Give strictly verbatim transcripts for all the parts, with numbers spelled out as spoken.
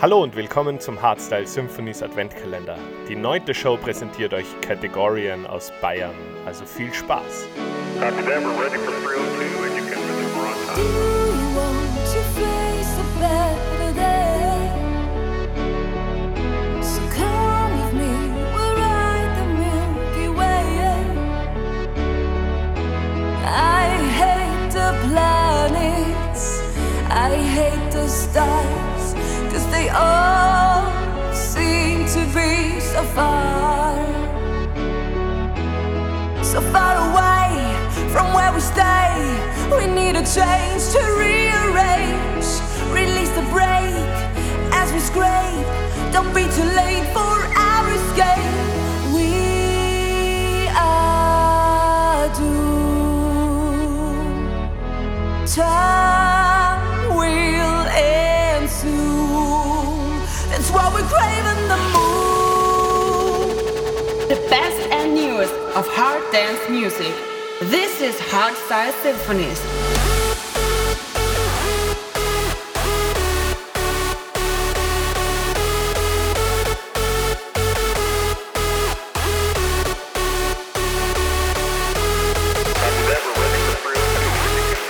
Hallo und willkommen zum Hardstyle Symphonies Adventkalender. Die neunte Show präsentiert euch Categorian aus Bayern. Also viel Spaß! Copy that, we're ready for three oh two and you can maneuver on Do time. you want to face a better day? So come with me, we'll ride the Milky Way. I hate the planets, I hate the stars, 'cause they all seem to be so far, so far away from where we stay. We need a change to rearrange, release the brake as we scrape. Don't be too late for our escape. We are doomed. Time will end soon. That's why we're craving the moon. The best and newest of hard dance music. This is Hardstyle Symphonies. Copy that, we're ready for three oh two and you can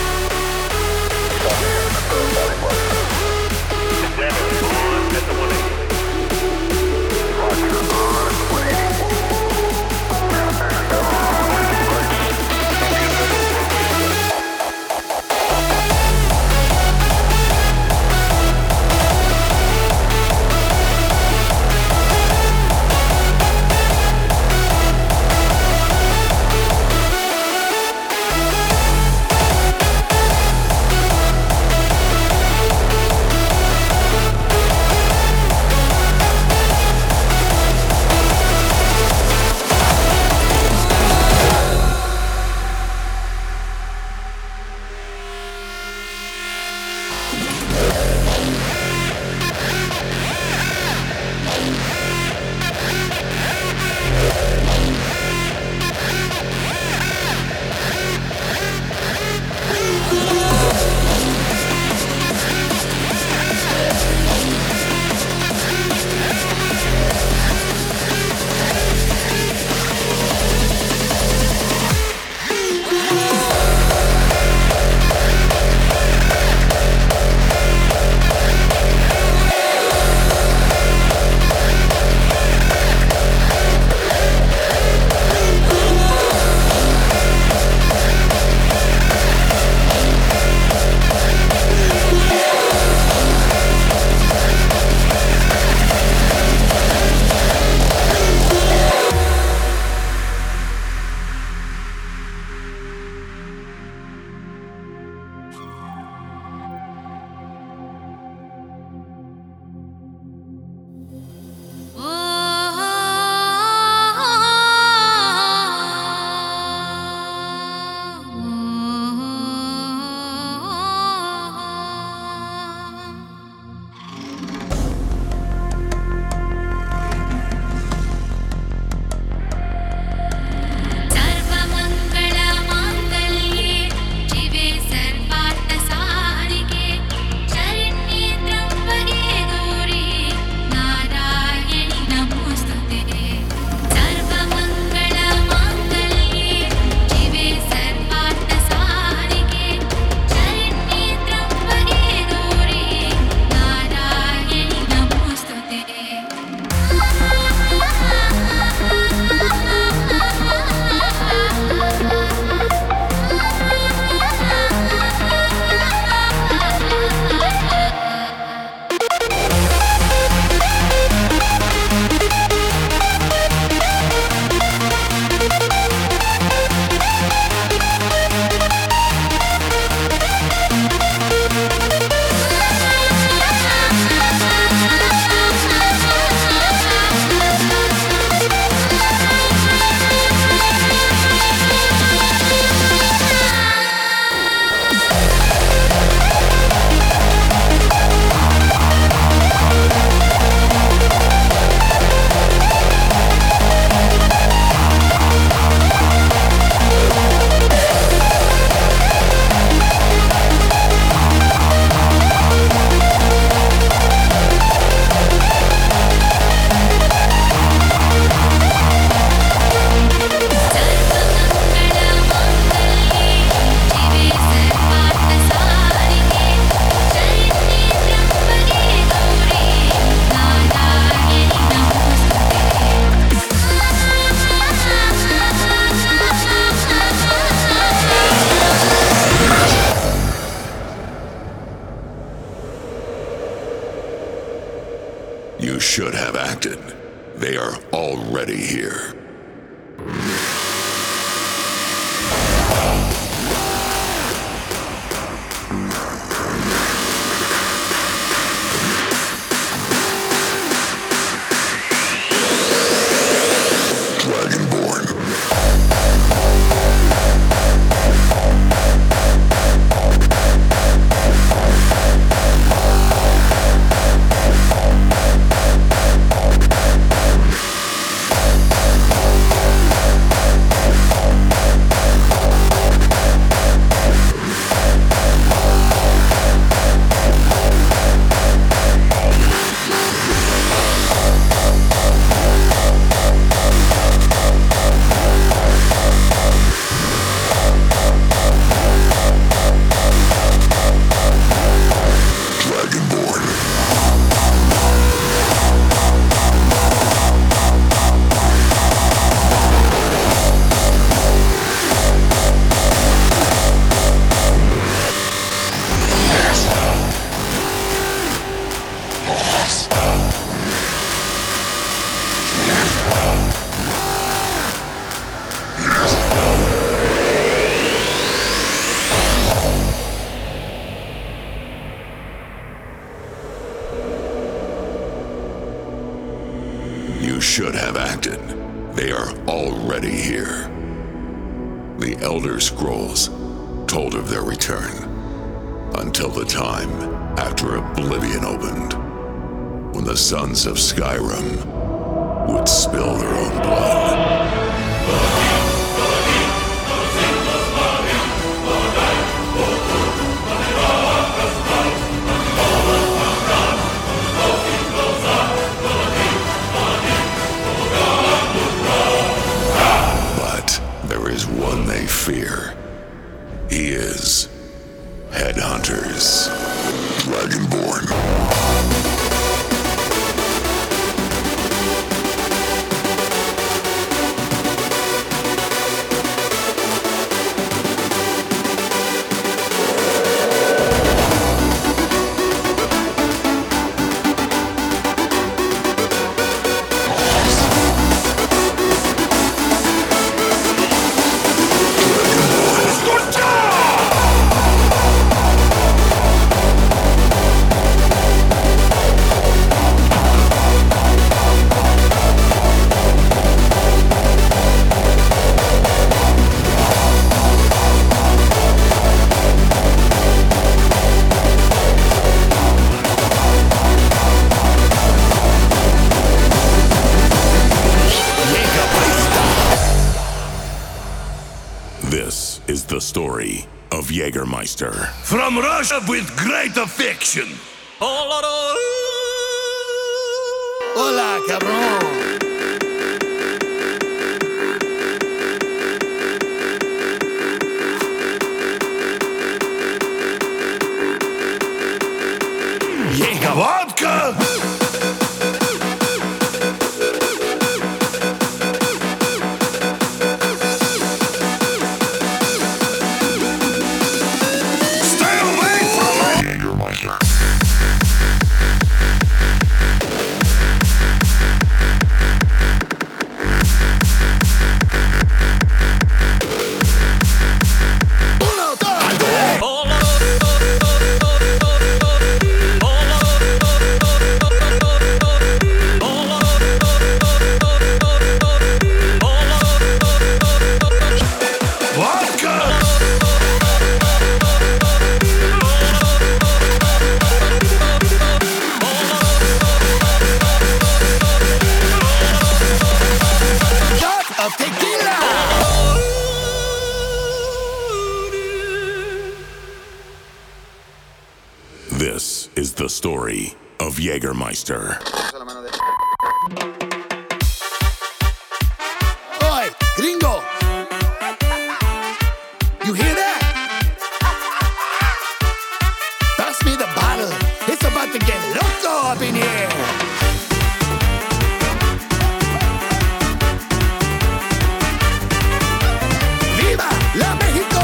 maneuver on time. Endeavor on at the one eighty. should have acted. They are already here. Should have acted. They are already here. The Elder Scrolls told of their return until the time after Oblivion opened, when the sons of Skyrim would spill their own blood. One they fear. He is Headhunters, Dragonborn. This is the story of Jägermeister. From Russia with great affection. Hola, cabrón. Jäger vodka. This is the story of Jägermeister. Oi, gringo! You hear that? Pass me the bottle. It's about to get loco up in here. Viva la México!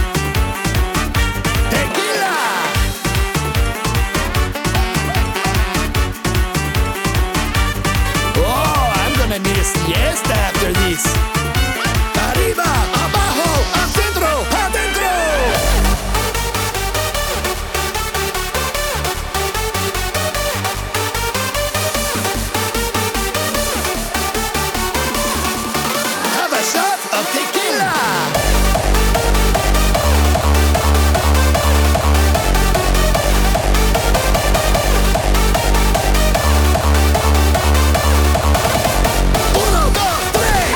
Tequila! fiesta after this. Arriba, abajo, adentro, adentro. Have a shot of tequila. Uno, dos, tres.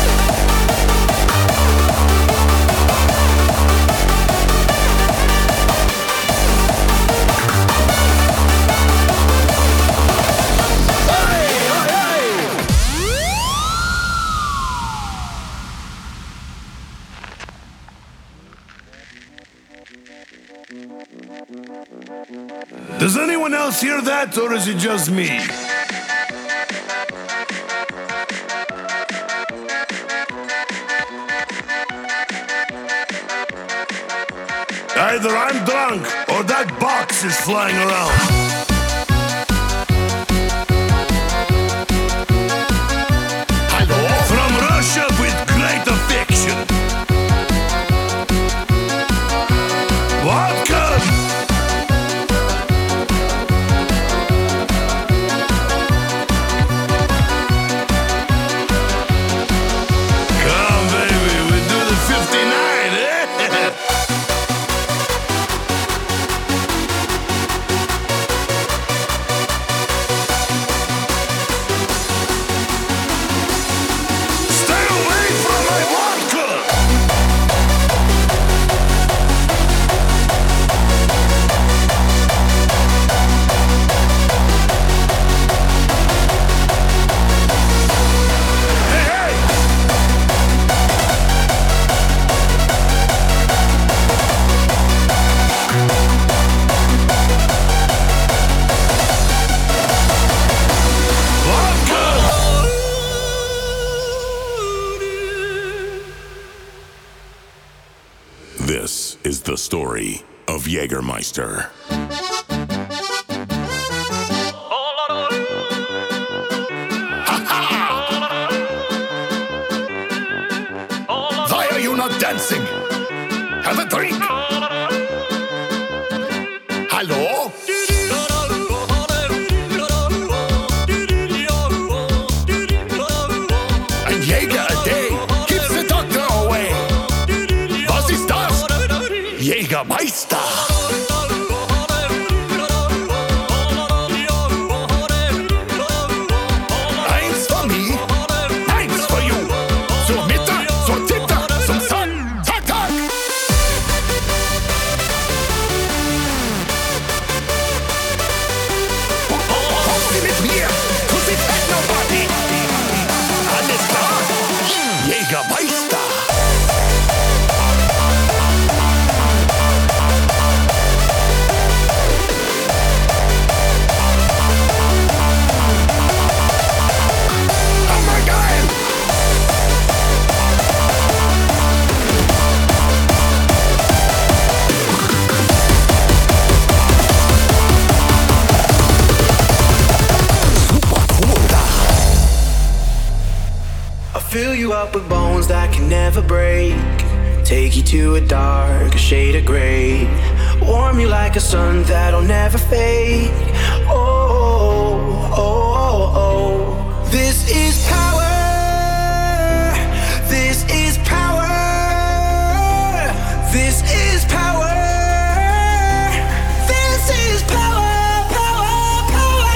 Ay, ay, ay. Does anyone else hear that, or is it just me? Either I'm drunk, or that box is flying around. Hallo? From Russia with great affection. Vodka! Come, baby, we do the fifty-nine, eh? Stay away from my vodka! Hey, hey! Vodka! This is the story of Jägermeister. Why are you not dancing? Have a drink. Hallo? Ein Jäger a day keeps the doctor away. Was ist das? Jägermeister. Eins for me, eins for you. Zur Mitte, zur Titte, zum Sun. Tack, tack. Kommen Sie mit mir to the Techno-Party. Alles klar? Jägermeister. Hammergeil. Super cool da. I'll fill you up with bones that can never break. Take you to a dark shade of gray. Warm you like a sun that'll never fade. Oh, oh, oh, oh. This is power. This is power. This is power. This is power, power, power.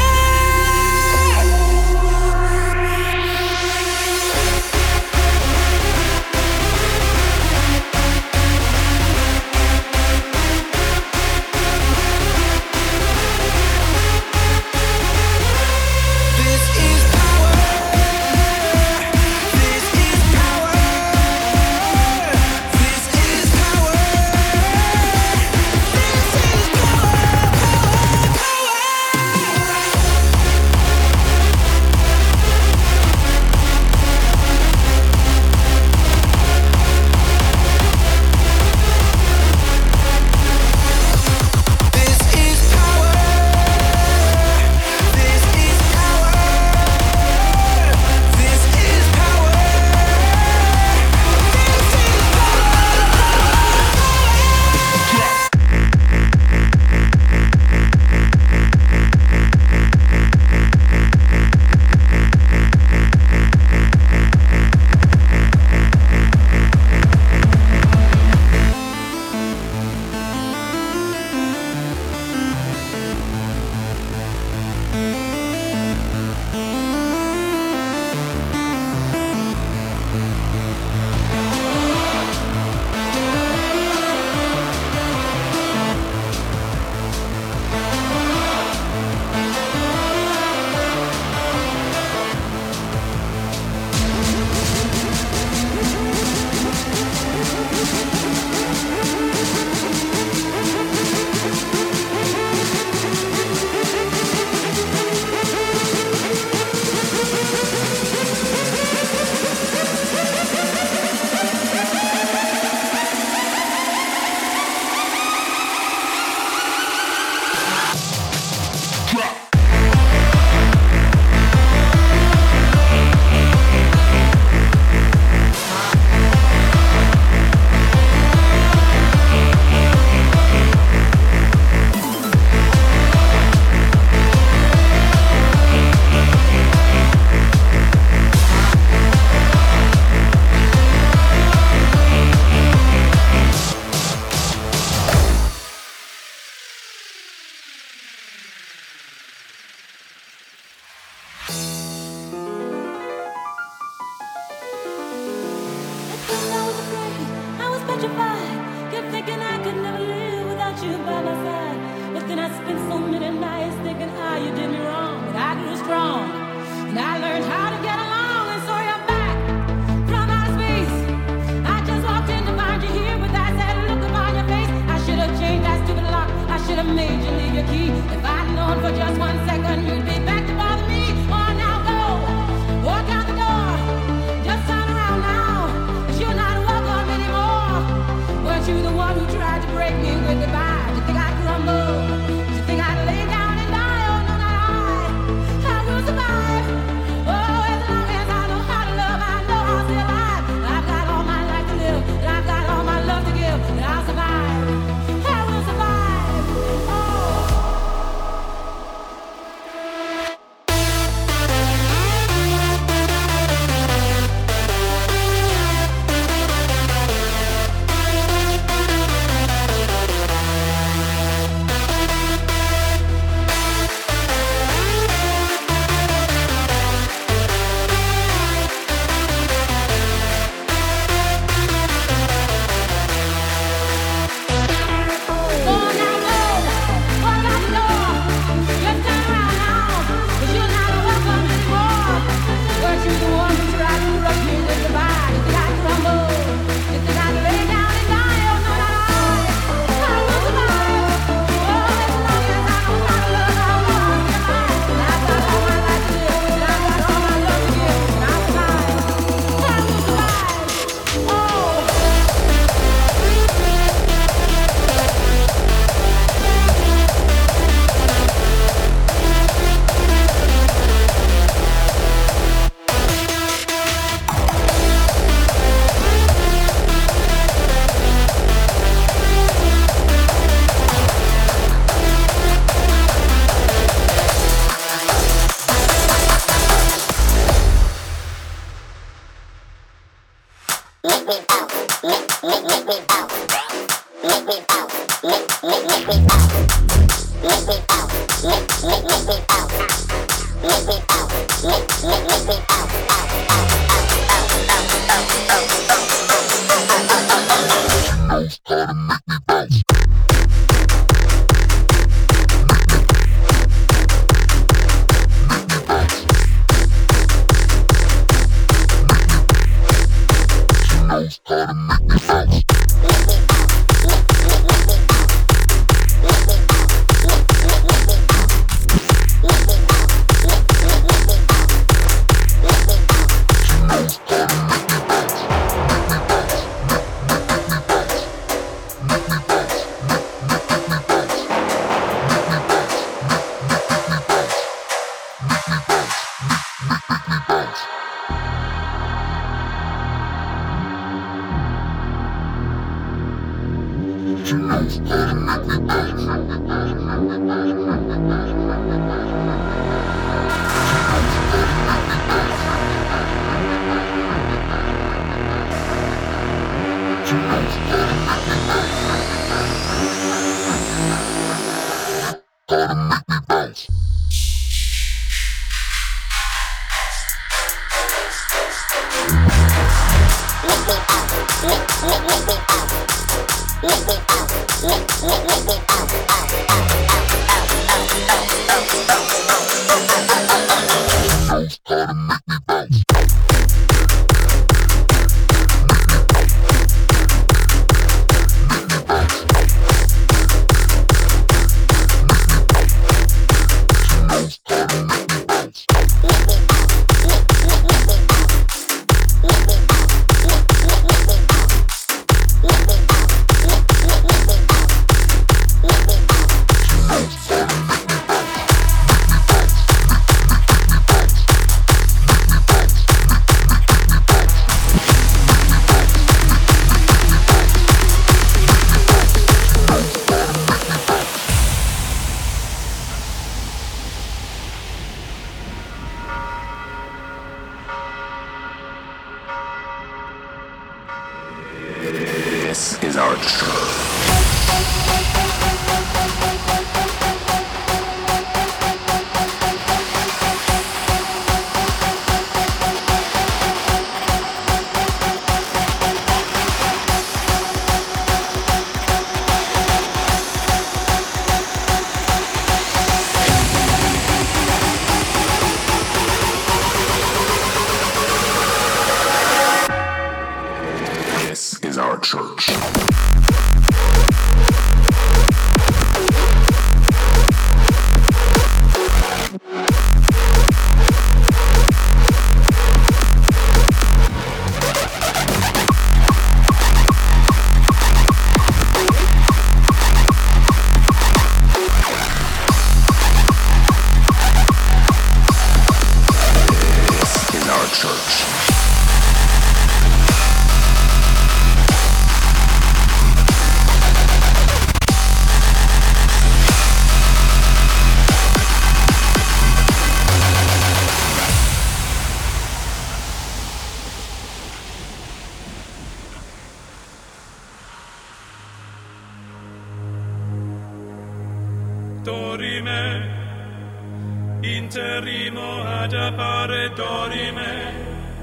Interrimo ad appare dorime,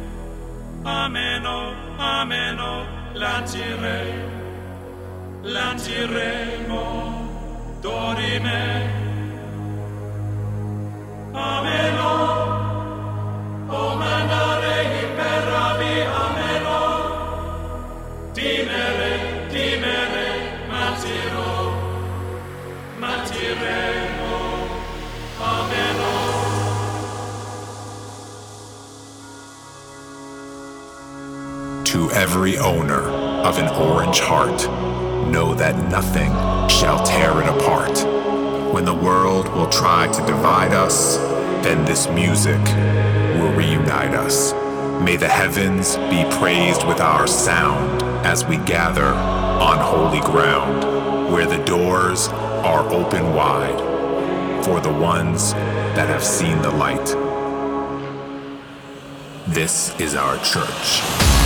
ameno, ameno, lancire, lanciremo, dorime, ameno, o mandare imperavi, ameno, timere, timere, matiro, matiremo, ameno. To every owner of an orange heart, know that nothing shall tear it apart. When the world will try to divide us, then this music will reunite us. May the heavens be praised with our sound as we gather on holy ground, where the doors are open wide for the ones that have seen the light. This is our church.